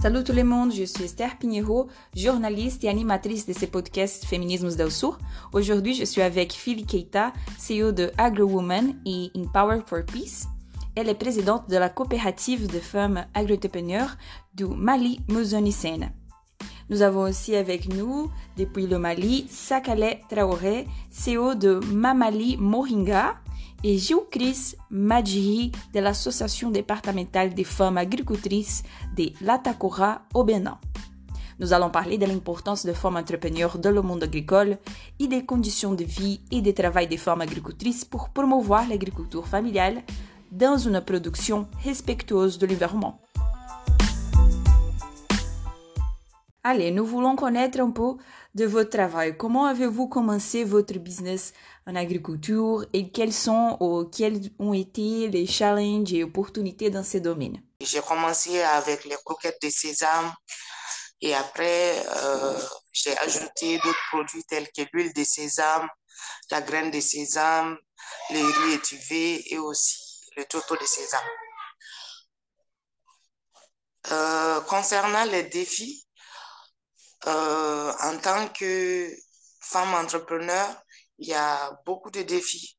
Salut tout le monde, je suis Esther Pinheiro, journaliste et animatrice de ces podcasts Féminismes del Sur. Aujourd'hui, je suis avec Philly Keita, CEO de AgroWoman et Empower for Peace. Elle est présidente de la coopérative de femmes agro-entrepreneurs du Mali Mozonicène. Nous avons aussi avec nous, depuis le Mali, Sakale Traoré, CEO de Mamali Moringa, et Gilles-Chris Madjiri de l'Association départementale des femmes agricultrices de l'Atakora au Bénin. Nous allons parler de l'importance des femmes entrepreneurs dans le monde agricole et des conditions de vie et de travail des femmes agricultrices pour promouvoir l'agriculture familiale dans une production respectueuse de l'environnement. Allez, nous voulons connaître un peu de votre travail. Comment avez-vous commencé votre business en agriculture et quels ont été les challenges et opportunités dans ce domaine? J'ai commencé avec les croquettes de sésame et après, j'ai ajouté d'autres produits tels que l'huile de sésame, la graine de sésame, les riz étuvé et aussi le tourteau de sésame. Concernant les défis, en tant que femme entrepreneur, il y a beaucoup de défis.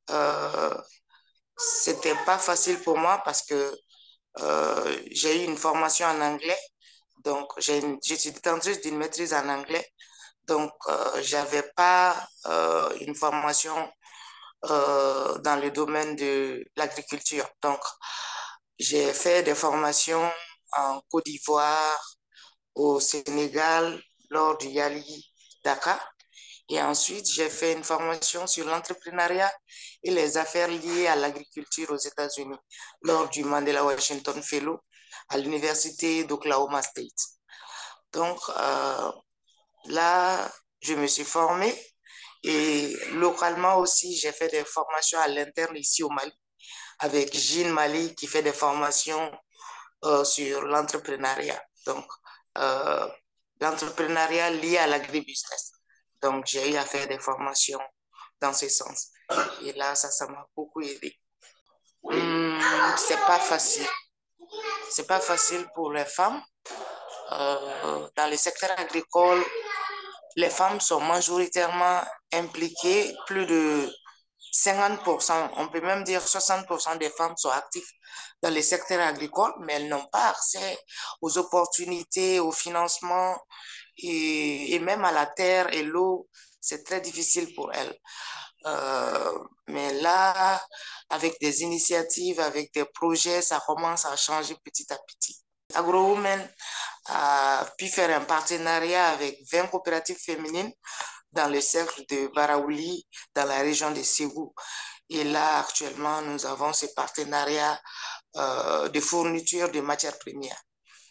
C'était pas facile pour moi parce que j'ai eu une formation en anglais, donc je suis détentrice d'une maîtrise en anglais, donc j'avais pas une formation dans le domaine de l'agriculture. Donc j'ai fait des formations en Côte d'Ivoire, au Sénégal, lors du Yali Dakar. Et ensuite, j'ai fait une formation sur l'entrepreneuriat et les affaires liées à l'agriculture aux États-Unis lors du Mandela Washington Fellow à l'université d'Oklahoma State. Donc là, je me suis formée et localement aussi, j'ai fait des formations à l'interne ici au Mali avec Jean Mali qui fait des formations sur l'entrepreneuriat. Donc, l'entrepreneuriat lié à l'agribusiness. Donc, j'ai eu à faire des formations dans ce sens. Et là, ça m'a beaucoup aidé. C'est pas facile. C'est pas facile pour les femmes. Dans le secteur agricole, les femmes sont majoritairement impliquées. Plus de 50%, on peut même dire 60% des femmes sont actives dans le secteur agricole, mais elles n'ont pas accès aux opportunités, au financement et même à la terre et l'eau. C'est très difficile pour elles. Mais là, avec des initiatives, avec des projets, ça commence à changer petit à petit. AgroWoman a pu faire un partenariat avec 20 coopératives féminines dans le cercle de Baraouli, dans la région de Ségou. Et là, actuellement, nous avons ce partenariat de fourniture de matières premières.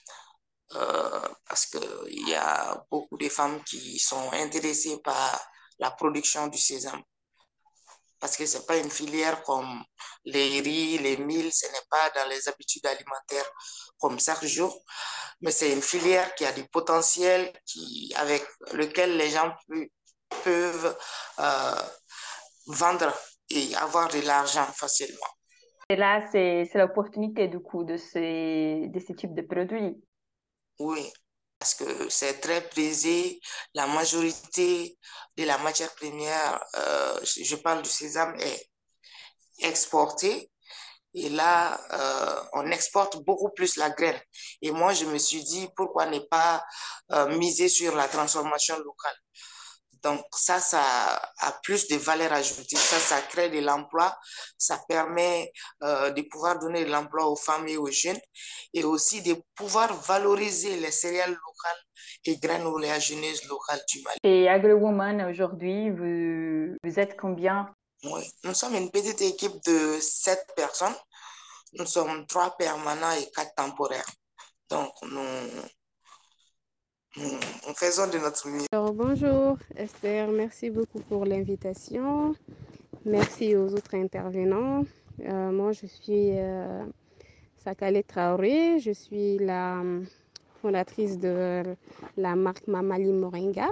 Parce qu'il y a beaucoup de femmes qui sont intéressées par la production du sésame. Parce que ce n'est pas une filière comme les riz, les milles, ce n'est pas dans les habitudes alimentaires comme chaque jour, mais c'est une filière qui a du potentiel, avec lequel les gens peuvent vendre et avoir de l'argent facilement. Et là, c'est l'opportunité du coup de ce type de produit. Oui, parce que c'est très prisé. La majorité de la matière première, je parle du sésame, est exportée. Et là, on exporte beaucoup plus la graine. Et moi, je me suis dit, pourquoi ne pas miser sur la transformation locale? Donc ça a plus de valeur ajoutée. Ça crée de l'emploi. Ça permet de pouvoir donner de l'emploi aux femmes et aux jeunes et aussi de pouvoir valoriser les céréales locales et graines oléagineuses locales du Mali. Et AgroWoman, aujourd'hui, vous êtes combien? Oui, nous sommes une petite équipe de 7 personnes. Nous sommes 3 permanents et 4 temporaires. Donc, nous faisons de notre mieux. Alors, bonjour Esther, merci beaucoup pour l'invitation. Merci aux autres intervenants. Moi, je suis Sakale Traoré. Je suis la fondatrice de la marque Mamali Moringa.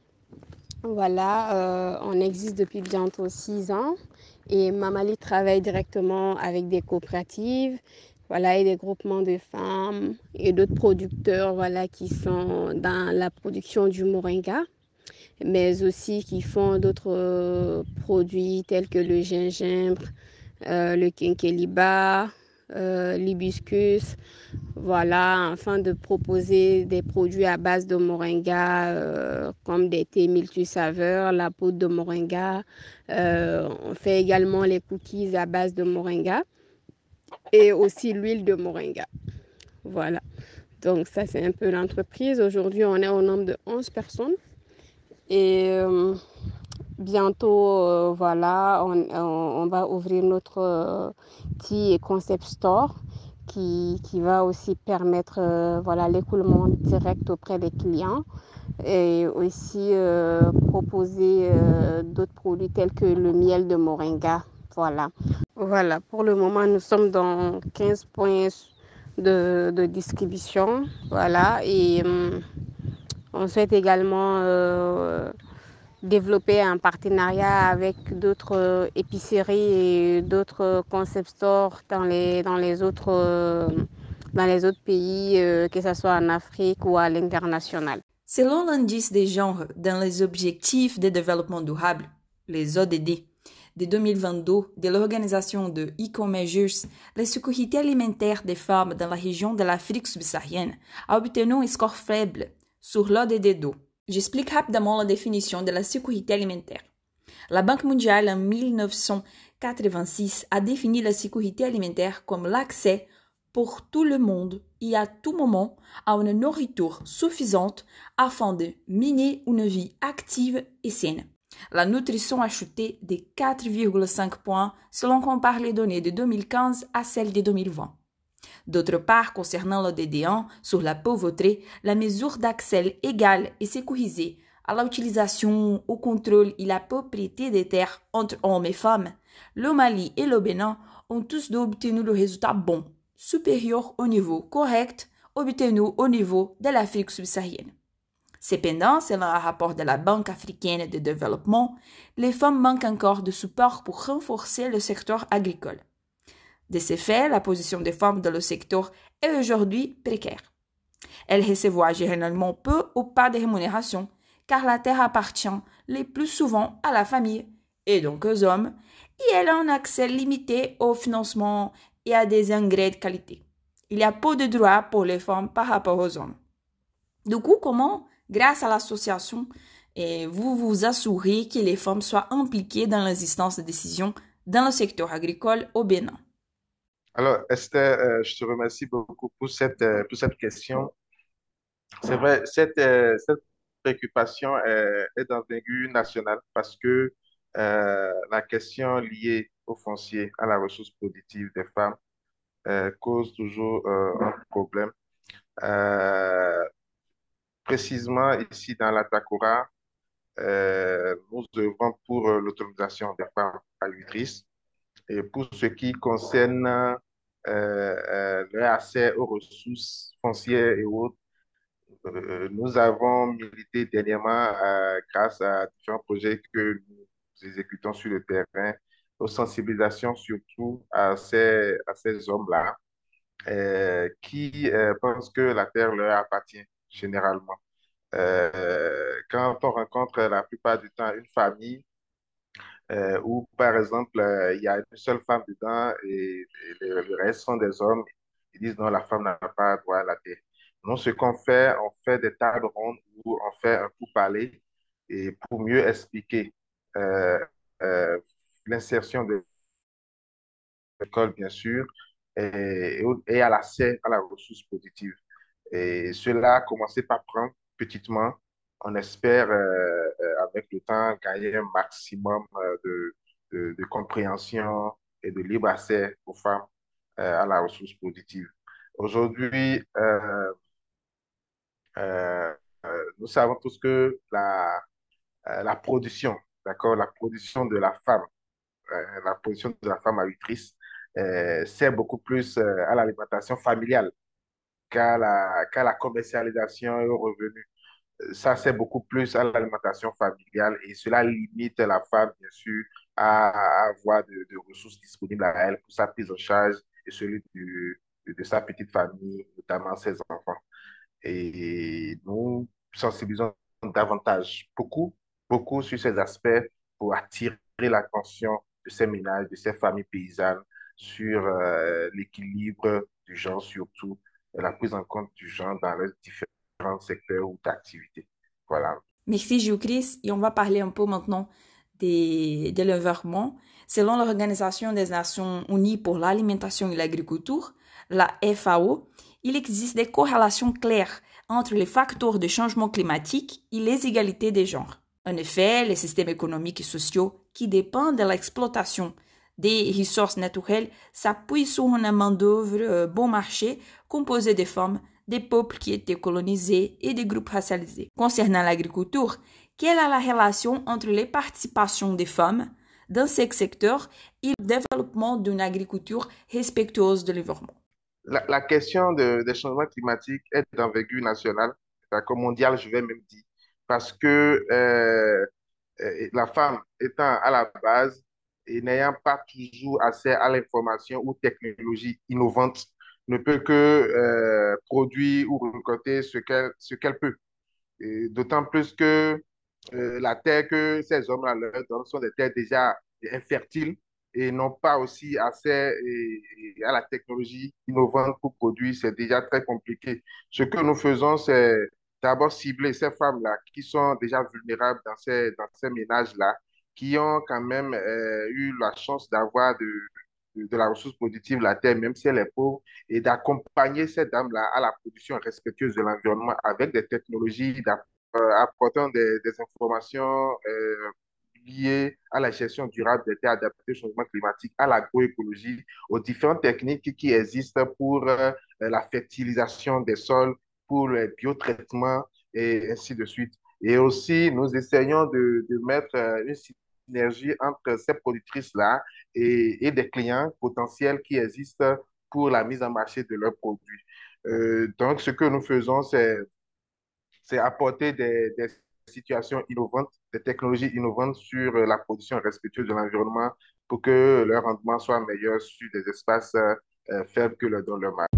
Voilà, on existe depuis bientôt 6 ans et Mamali travaille directement avec des coopératives, voilà, et des groupements de femmes et d'autres producteurs, voilà, qui sont dans la production du moringa, mais aussi qui font d'autres produits tels que le gingembre, le quinqueliba, l'hibiscus, voilà, afin de proposer des produits à base de moringa, comme des thés multisaveurs, la poudre de moringa. On fait également les cookies à base de moringa et aussi l'huile de moringa. Voilà. Donc ça, c'est un peu l'entreprise. Aujourd'hui, on est au nombre de 11 personnes. Et bientôt, voilà, on va ouvrir notre petit concept store qui va aussi permettre voilà, l'écoulement direct auprès des clients et aussi proposer d'autres produits tels que le miel de moringa. Voilà. Voilà, pour le moment, nous sommes dans 15 points de distribution. Voilà, et on souhaite également développer un partenariat avec d'autres épiceries et d'autres concept stores dans les autres pays, que ce soit en Afrique ou à l'international. Selon l'indice des genres dans les objectifs de développement durable, les ODD, de 2022 de l'Organisation de Eco-Measures, la sécurité alimentaire des femmes dans la région de l'Afrique subsaharienne a obtenu un score faible sur l'ODD 2. J'explique rapidement la définition de la sécurité alimentaire. La Banque mondiale en 1986 a défini la sécurité alimentaire comme l'accès pour tout le monde et à tout moment à une nourriture suffisante afin de mener une vie active et saine. La nutrition a chuté de 4,5 points si l'on compare les données de 2015 à celles de 2020. D'autre part, concernant le DD1 sur la pauvreté, la mesure d'accès égal et sécurisé à l'utilisation, au contrôle et la propriété des terres entre hommes et femmes, le Mali et le Bénin ont tous deux obtenu le résultat bon, supérieur au niveau correct obtenu au niveau de l'Afrique subsaharienne. Cependant, selon un rapport de la Banque africaine de développement, les femmes manquent encore de support pour renforcer le secteur agricole. De ce fait, la position des femmes dans le secteur est aujourd'hui précaire. Elles reçoivent généralement peu ou pas de rémunération, car la terre appartient le plus souvent à la famille, et donc aux hommes, et elles ont un accès limité au financement et à des engrais de qualité. Il y a peu de droits pour les femmes par rapport aux hommes. Du coup, comment, grâce à l'association, vous vous assurez que les femmes soient impliquées dans les instances de décision dans le secteur agricole au Bénin? Alors, Esther, je te remercie beaucoup pour cette question. C'est vrai, cette préoccupation est d'envergure nationale parce que la question liée au foncier, à la ressource productive des femmes, cause toujours un problème. Euh, Précisément ici dans la Takora, nous œuvrons pour l'autonomisation des femmes agricultrices. Et pour ce qui concerne leur accès aux ressources foncières et autres, nous avons milité dernièrement grâce à différents projets que nous exécutons sur le terrain, aux sensibilisations surtout à ces hommes-là qui pensent que la terre leur appartient généralement. Quand on rencontre la plupart du temps une famille où, par exemple, il y a une seule femme dedans et le reste sont des hommes. Ils disent non, la femme n'a pas droit à la terre. Non, ce qu'on fait, on fait des tables rondes où on fait un pourparler et pour mieux expliquer euh, euh, l'insertion de l'école, bien sûr, et à l'accès à la ressource positive. Et cela a commencé par prendre petitement. On espère, avec le temps, gagner un maximum de compréhension et de libre accès aux femmes à la ressource positive. Aujourd'hui, euh, nous savons tous que la production, d'accord, la production de la femme agricultrice sert beaucoup plus à l'alimentation familiale qu'à la commercialisation et au revenu. Ça, c'est beaucoup plus à l'alimentation familiale et cela limite la femme, bien sûr, à avoir de ressources disponibles à elle pour sa prise en charge et celui de sa petite famille, notamment ses enfants. Et nous sensibilisons davantage, beaucoup sur ces aspects pour attirer l'attention de ces ménages, de ces familles paysannes sur l'équilibre du genre, surtout la prise en compte du genre dans les différents secteurs ou d'activité. Voilà. Merci Gilles-Chris. Et on va parler un peu maintenant de l'environnement. Selon l'Organisation des Nations Unies pour l'alimentation et l'agriculture, la FAO, il existe des corrélations claires entre les facteurs de changement climatique et les égalités des genres. En effet, les systèmes économiques et sociaux qui dépendent de l'exploitation des ressources naturelles s'appuient sur une main-d'œuvre bon marché composée de femmes, des peuples qui étaient colonisés et des groupes racialisés. Concernant l'agriculture, quelle est la relation entre les participations des femmes dans ce secteur et le développement d'une agriculture respectueuse de l'environnement? La question des changements climatiques est d'envergure nationale, d'accord, mondiale, je vais même dire, parce que la femme étant à la base et n'ayant pas toujours accès à l'information ou technologie innovante, ne peut que produire ou récolter ce qu'elle peut. D'autant plus que la terre que ces hommes-là leur donnent sont des terres déjà infertiles et n'ont pas aussi accès à la technologie innovante pour produire. C'est déjà très compliqué. Ce que nous faisons, c'est d'abord cibler ces femmes-là qui sont déjà vulnérables dans ces ménages-là, qui ont quand même eu la chance d'avoir de la ressource productive, la terre, même si elle est pauvre, et d'accompagner ces dames-là à la production respectueuse de l'environnement avec des technologies, apportant des informations liées à la gestion durable des terres adaptées au changement climatique, à l'agroécologie, aux différentes techniques qui existent pour la fertilisation des sols, pour le biotraitement et ainsi de suite. Et aussi, nous essayons de mettre une synergie entre ces productrices-là des clients potentiels qui existent pour la mise en marché de leurs produits. Donc, ce que nous faisons, c'est apporter des situations innovantes, des technologies innovantes sur la production respectueuse de l'environnement pour que leur rendement soit meilleur sur des espaces faibles que dans leur marché.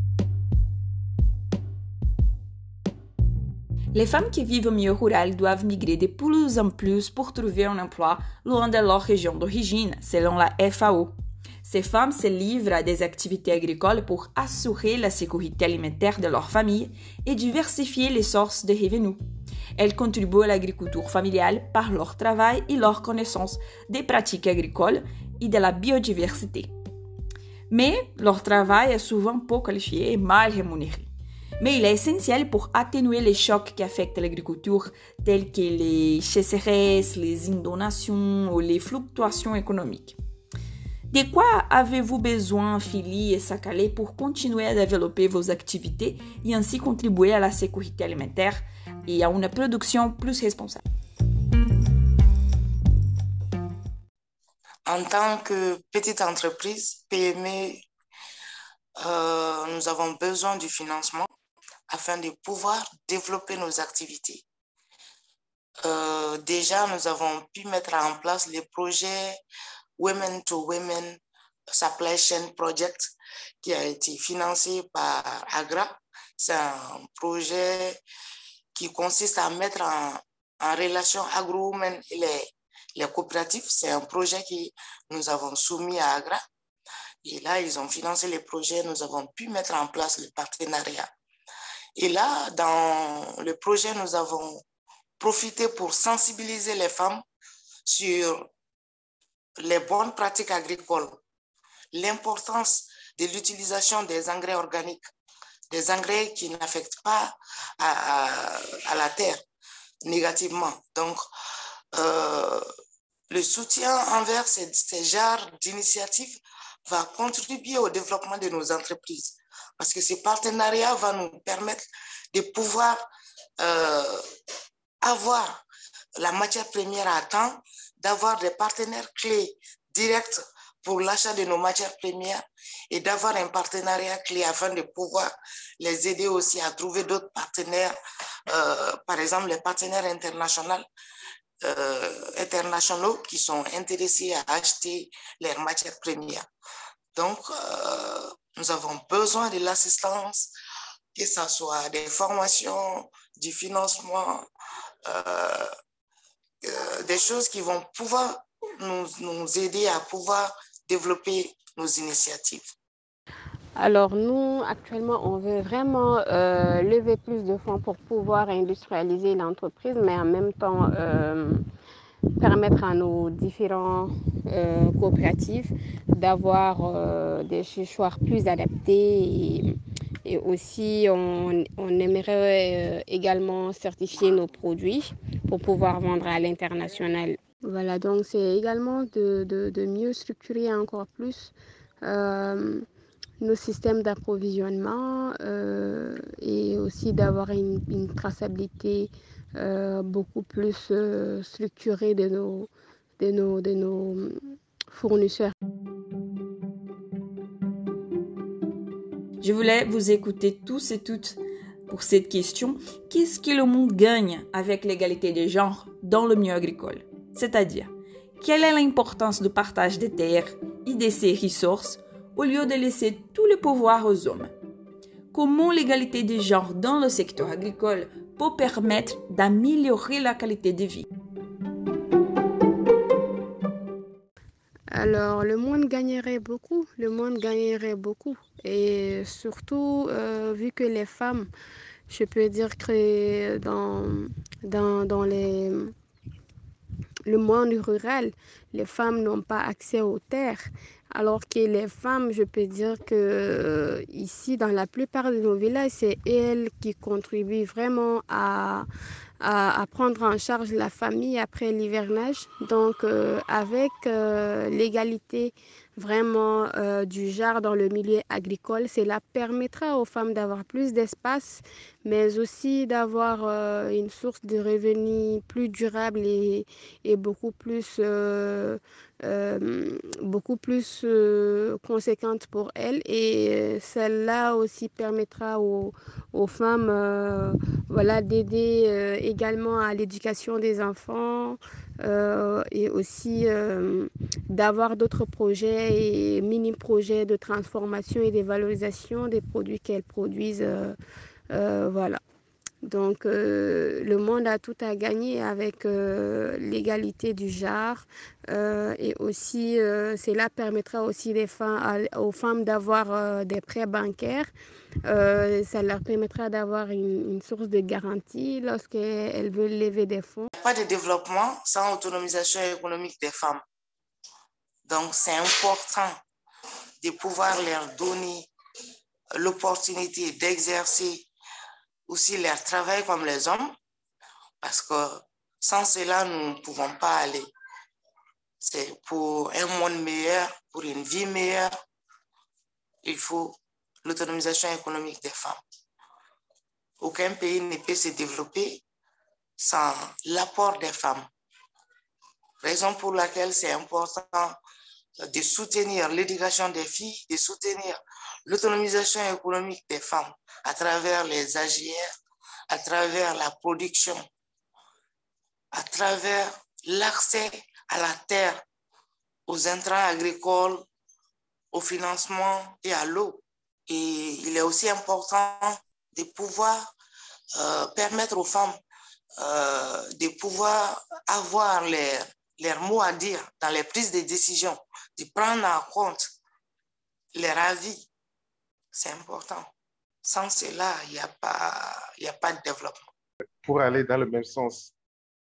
Les femmes qui vivent au milieu rural doivent migrer de plus en plus pour trouver un emploi loin de leur région d'origine, selon la FAO. Ces femmes se livrent à des activités agricoles pour assurer la sécurité alimentaire de leur famille et diversifier les sources de revenus. Elles contribuent à l'agriculture familiale par leur travail et leur connaissance des pratiques agricoles et de la biodiversité. Mais leur travail est souvent peu qualifié et mal rémunéré. Mais il est essentiel pour atténuer les chocs qui affectent l'agriculture, tels que les sécheresses, les inondations ou les fluctuations économiques. De quoi avez-vous besoin, Philly et Sakale, pour continuer à développer vos activités et ainsi contribuer à la sécurité alimentaire et à une production plus responsable? En tant que petite entreprise, PME, nous avons besoin du financement afin de pouvoir développer nos activités. Déjà, nous avons pu mettre en place les projets Women to Women Supply Chain Project qui a été financé par AGRA. C'est un projet qui consiste à mettre en relation agro-women et les coopératives. C'est un projet que nous avons soumis à AGRA. Et là, ils ont financé les projets. Nous avons pu mettre en place le partenariat. Et là, dans le projet, nous avons profité pour sensibiliser les femmes sur les bonnes pratiques agricoles, l'importance de l'utilisation des engrais organiques, des engrais qui n'affectent pas à la terre négativement. Donc, le soutien envers ces genres d'initiatives va contribuer au développement de nos entreprises. Parce que ce partenariat va nous permettre de pouvoir avoir la matière première à temps, d'avoir des partenaires clés directs pour l'achat de nos matières premières et d'avoir un partenariat clé afin de pouvoir les aider aussi à trouver d'autres partenaires, par exemple les partenaires internationaux qui sont intéressés à acheter leurs matières premières. Donc, Nous avons besoin de l'assistance, que ce soit des formations, du financement, des choses qui vont pouvoir nous aider à pouvoir développer nos initiatives. Alors nous, actuellement, on veut vraiment lever plus de fonds pour pouvoir industrialiser l'entreprise, mais en même temps permettre à nos différents coopératives d'avoir des séchoirs plus adaptés et aussi on aimerait également certifier nos produits pour pouvoir vendre à l'international. Voilà, donc c'est également de mieux structurer encore plus nos systèmes d'approvisionnement et aussi d'avoir une traçabilité beaucoup plus structurée de nos fournisseurs. Je voulais vous écouter tous et toutes pour cette question. Qu'est-ce que le monde gagne avec l'égalité des genres dans le milieu agricole? C'est-à-dire, quelle est l'importance du partage des terres et de ses ressources au lieu de laisser tout le pouvoir aux hommes? Comment l'égalité des genres dans le secteur agricole peut permettre d'améliorer la qualité de vie? Alors, le monde gagnerait beaucoup, Et surtout, vu que les femmes, je peux dire que dans le monde rural, les femmes n'ont pas accès aux terres. Alors que les femmes, je peux dire que ici, dans la plupart de nos villages, c'est elles qui contribuent vraiment à prendre en charge la famille après l'hivernage. Donc, avec l'égalité vraiment du genre dans le milieu agricole, cela permettra aux femmes d'avoir plus d'espace, mais aussi d'avoir une source de revenus plus durable et beaucoup plus conséquente pour elles. Et celle-là aussi permettra aux femmes voilà, d'aider également à l'éducation des enfants et aussi d'avoir d'autres projets et mini-projets de transformation et de valorisation des produits qu'elles produisent. Voilà. Donc, le monde a tout à gagner avec l'égalité du genre et aussi, cela permettra aussi aux femmes d'avoir des prêts bancaires. Ça leur permettra d'avoir une source de garantie lorsqu'elles veulent lever des fonds. Il n'y a pas de développement sans autonomisation économique des femmes. Donc, c'est important de pouvoir leur donner l'opportunité d'exercer aussi leur travail comme les hommes, parce que sans cela, nous ne pouvons pas aller. C'est pour un monde meilleur, pour une vie meilleure, il faut l'autonomisation économique des femmes. Aucun pays ne peut se développer sans l'apport des femmes. Raison pour laquelle c'est important de soutenir l'éducation des filles, de soutenir l'autonomisation économique des femmes à travers les AGR, à travers la production, à travers l'accès à la terre, aux intrants agricoles, au financement et à l'eau. Et il est aussi important de pouvoir permettre aux femmes de pouvoir avoir leur mot à dire dans les prises de décision, de prendre en compte leur avis. C'est important. Sans cela, il n'y a pas de développement. Pour aller dans le même sens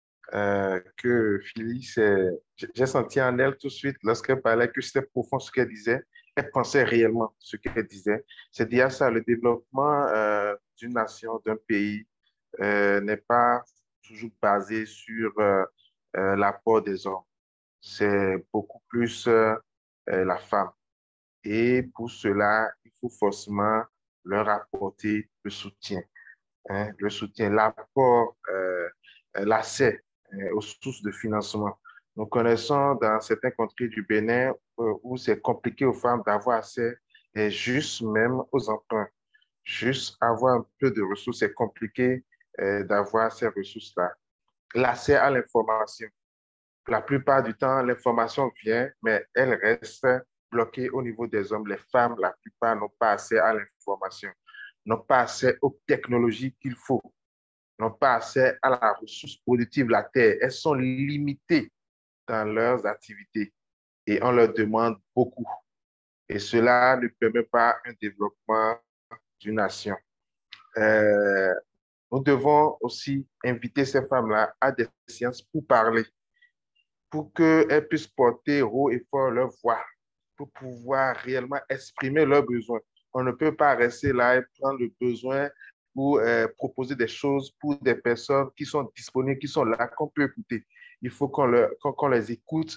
que Phyllis, j'ai senti en elle tout de suite, lorsqu'elle parlait, que c'était profond ce qu'elle disait. Elle pensait réellement ce qu'elle disait. C'est dire ça, le développement d'une nation, d'un pays, n'est pas toujours basé sur l'apport des hommes. C'est beaucoup plus la femme. Et pour cela, il faut forcément leur apporter le soutien, hein, l'apport, l'accès aux sources de financement. Nous connaissons dans certains contrées du Bénin où c'est compliqué aux femmes d'avoir accès et juste même aux emprunts. Juste avoir un peu de ressources, c'est compliqué d'avoir ces ressources-là. L'accès à l'information. La plupart du temps, l'information vient, mais elle reste bloqué au niveau des hommes. Les femmes, la plupart, n'ont pas accès à l'information, n'ont pas accès aux technologies qu'il faut, n'ont pas accès à la ressource productive, la terre. Elles sont limitées dans leurs activités et on leur demande beaucoup. Et cela ne permet pas un développement d'une nation. Euh, nous devons aussi inviter ces femmes-là à des séances pour parler, pour qu'elles puissent porter haut et fort leur voix, pour pouvoir réellement exprimer leurs besoins. On ne peut pas rester là et prendre le besoin ou proposer des choses pour des personnes qui sont disponibles, qui sont là, qu'on peut écouter. Il faut qu'on les écoute,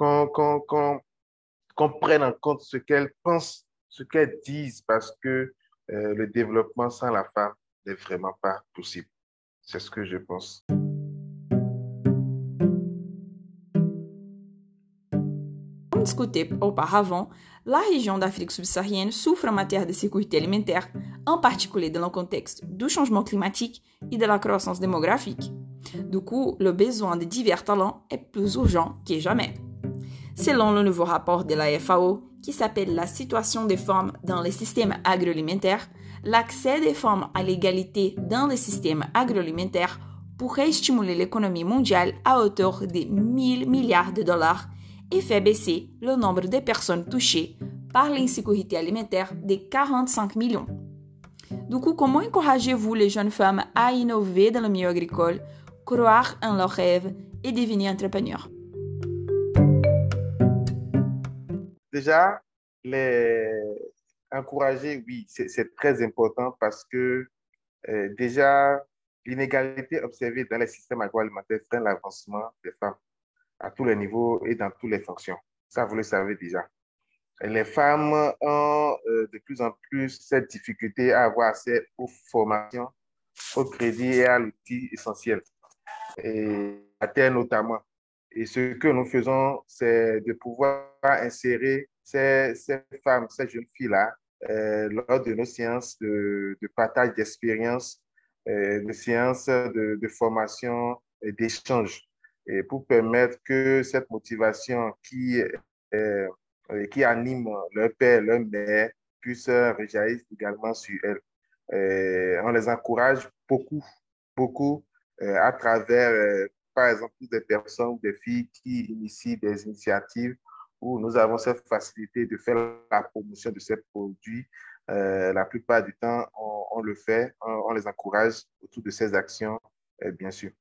qu'on prenne en compte ce qu'elles pensent, ce qu'elles disent, parce que le développement sans la femme n'est vraiment pas possible. C'est ce que je pense. Comme discuté auparavant, la région d'Afrique subsaharienne souffre en matière de sécurité alimentaire, en particulier dans le contexte du changement climatique et de la croissance démographique. Du coup, le besoin de divers talents est plus urgent que jamais. Selon le nouveau rapport de la FAO, qui s'appelle La situation des femmes dans les systèmes agroalimentaires, l'accès des femmes à l'égalité dans les systèmes agroalimentaires pourrait stimuler l'économie mondiale à hauteur de 1 000 milliards de dollars et fait baisser le nombre de personnes touchées par l'insécurité alimentaire de 45 millions. Du coup, comment encouragez-vous les jeunes femmes à innover dans le milieu agricole, croire en leurs rêves et devenir entrepreneurs? Déjà, les encourager, oui, c'est très important parce que déjà, l'inégalité observée dans les systèmes agroalimentaires freine l'avancement des femmes à tous les niveaux et dans toutes les fonctions. Ça, vous le savez déjà. Les femmes ont de plus en plus cette difficulté à avoir accès aux formations, au crédit et à l'outil essentiel, et à terre notamment. Et ce que nous faisons, c'est de pouvoir insérer ces femmes, ces jeunes filles-là, lors de nos séances de partage d'expériences, de séances de formation et d'échange, et pour permettre que cette motivation qui anime leur père, leur mère, puisse rejaillir également sur elles. On les encourage beaucoup, beaucoup à travers, par exemple, des personnes, des filles qui initient des initiatives où nous avons cette facilité de faire la promotion de ces produits. La plupart du temps, on le fait, on les encourage autour de ces actions, bien sûr.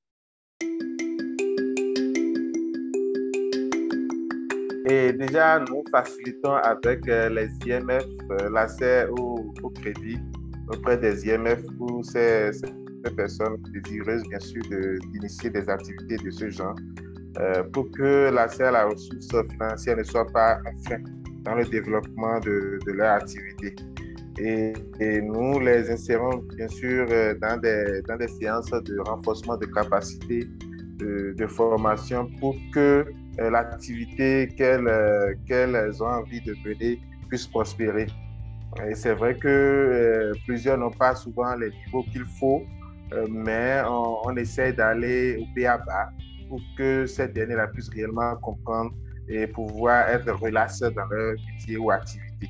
Et déjà, nous facilitons avec les IMF l'accès au crédit auprès des IMF pour ces personnes désireuses, bien sûr, d'initier des activités de ce genre, pour que l'accès à la ressource financière ne soit pas un frein dans le développement de leur activité. Et nous les insérons, bien sûr, dans des séances de renforcement de capacité de formation pour que l'activité qu'elles ont envie de mener puisse prospérer. Et c'est vrai que plusieurs n'ont pas souvent les niveaux qu'il faut, mais on essaie d'aller au b.a.-ba pour que ces derniers puissent réellement comprendre et pouvoir être relaxés dans leur métier ou activité.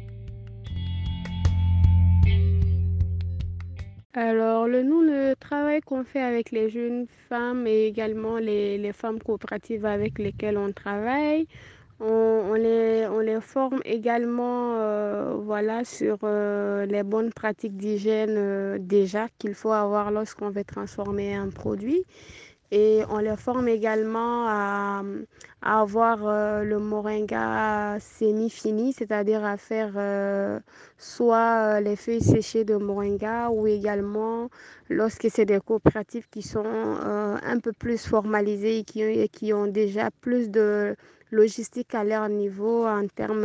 Alors, le travail qu'on fait avec les jeunes femmes et également les femmes coopératives avec lesquelles on travaille, on les forme également voilà, sur les bonnes pratiques d'hygiène déjà qu'il faut avoir lorsqu'on veut transformer un produit. Et on les forme également à avoir le moringa semi-fini, c'est-à-dire à faire soit les feuilles séchées de moringa ou également lorsque c'est des coopératives qui sont un peu plus formalisées et qui ont déjà plus de logistique à leur niveau en termes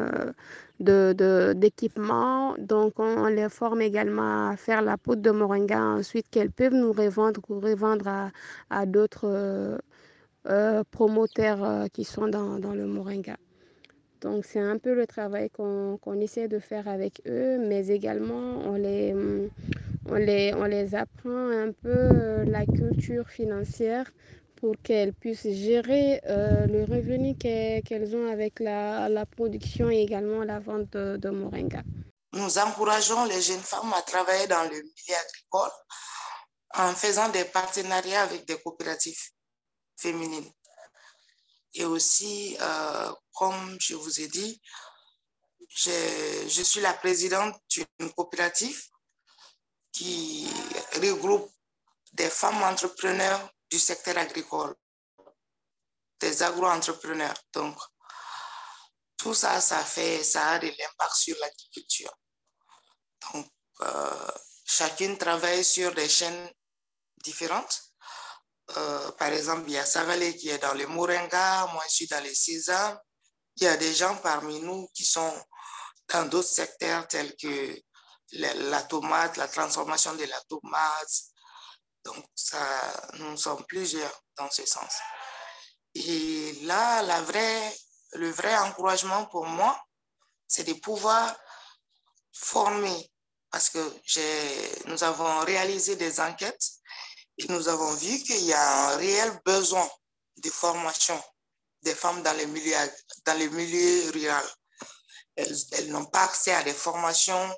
d'équipement. Donc, on les forme également à faire la poudre de moringa ensuite qu'elles peuvent nous revendre ou revendre à d'autres promoteurs qui sont dans le moringa. Donc, c'est un peu le travail qu'on essaie de faire avec eux, mais également, on les apprend un peu la culture financière pour qu'elles puissent gérer le revenu qu'elles ont avec la production et également la vente de moringa. Nous encourageons les jeunes femmes à travailler dans le milieu agricole en faisant des partenariats avec des coopératives féminines. Et aussi, comme je vous ai dit, je suis la présidente d'une coopérative qui regroupe des femmes entrepreneurs du secteur agricole, des agro-entrepreneurs. Donc, tout ça, ça a de l'impact sur l'agriculture. Donc, chacune travaille sur des chaînes différentes. Par exemple, il y a Savalé qui est dans le moringa, moi je suis dans les sésames. Il y a des gens parmi nous qui sont dans d'autres secteurs tels que la tomate, la transformation de la tomate. Donc, nous sommes plusieurs dans ce sens. Et là, le vrai encouragement pour moi, c'est de pouvoir former. Parce que nous avons réalisé des enquêtes et nous avons vu qu'il y a un réel besoin de formation des femmes dans les milieux ruraux. Elles n'ont pas accès à des formations,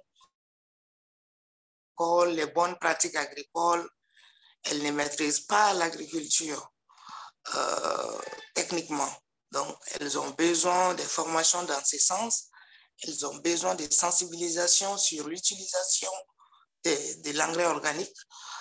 les bonnes pratiques agricoles. Elles ne maîtrisent pas l'agriculture techniquement. Donc, elles ont besoin de formations dans ce sens. Elles ont besoin de sensibilisation sur l'utilisation de l'engrais organique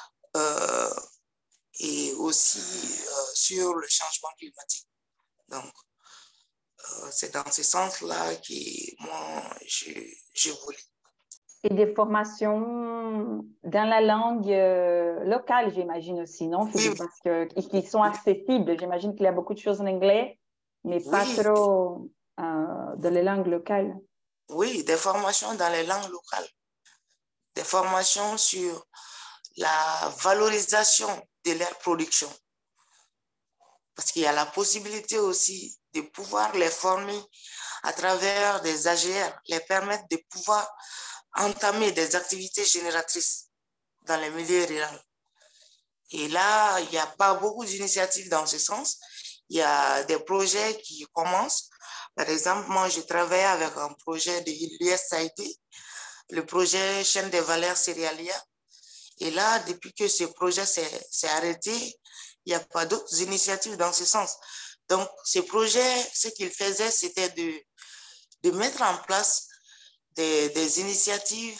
et aussi sur le changement climatique. Donc, c'est dans ce sens-là que moi, je voulais. Et des formations dans la langue locale, j'imagine aussi, non, Philippe? Oui. Parce qu'ils sont accessibles. J'imagine qu'il y a beaucoup de choses en anglais, mais pas trop dans les langues locales. Oui, des formations dans les langues locales. Des formations sur la valorisation de leur production. Parce qu'il y a la possibilité aussi de pouvoir les former à travers des AGR, les permettre de pouvoir entamer des activités génératrices dans les milieux ruraux. Et là, il n'y a pas beaucoup d'initiatives dans ce sens. Il y a des projets qui commencent. Par exemple, moi, je travaille avec un projet de l'USAID, le projet Chaîne des valeurs céréalières. Et là, depuis que ce projet s'est arrêté, il n'y a pas d'autres initiatives dans ce sens. Donc, ce projet, ce qu'il faisait, c'était de mettre en place des initiatives,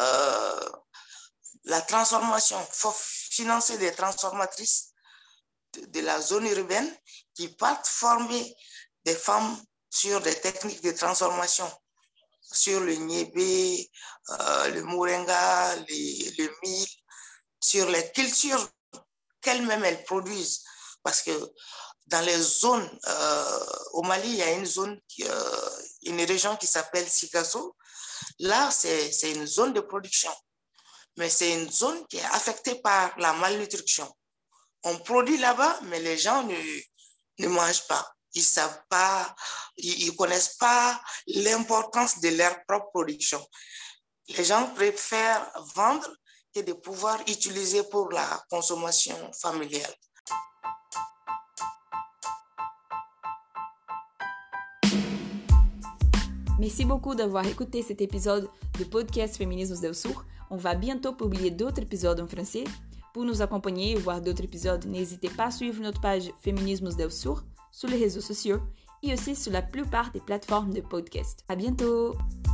la transformation. Il faut financer des transformatrices de la zone urbaine qui partent former des femmes sur des techniques de transformation, sur le niébé, le moringa, le mil, sur les cultures qu'elles-mêmes elles produisent. Parce que dans les zones, au Mali, il y a une région qui s'appelle Sikasso. Là, c'est une zone de production, mais c'est une zone qui est affectée par la malnutrition. On produit là-bas, mais les gens ne mangent pas. Ils savent pas, ils connaissent pas l'importance de leur propre production. Les gens préfèrent vendre que de pouvoir utiliser pour la consommation familiale. Merci beaucoup d'avoir écouté cet épisode de podcast Feminismos del Sur. On va bientôt publier d'autres épisodes en français. Pour nous accompagner et voir d'autres épisodes, n'hésitez pas à suivre notre page Feminismos del Sur sur les réseaux sociaux et aussi sur la plupart des plateformes de podcast. À bientôt!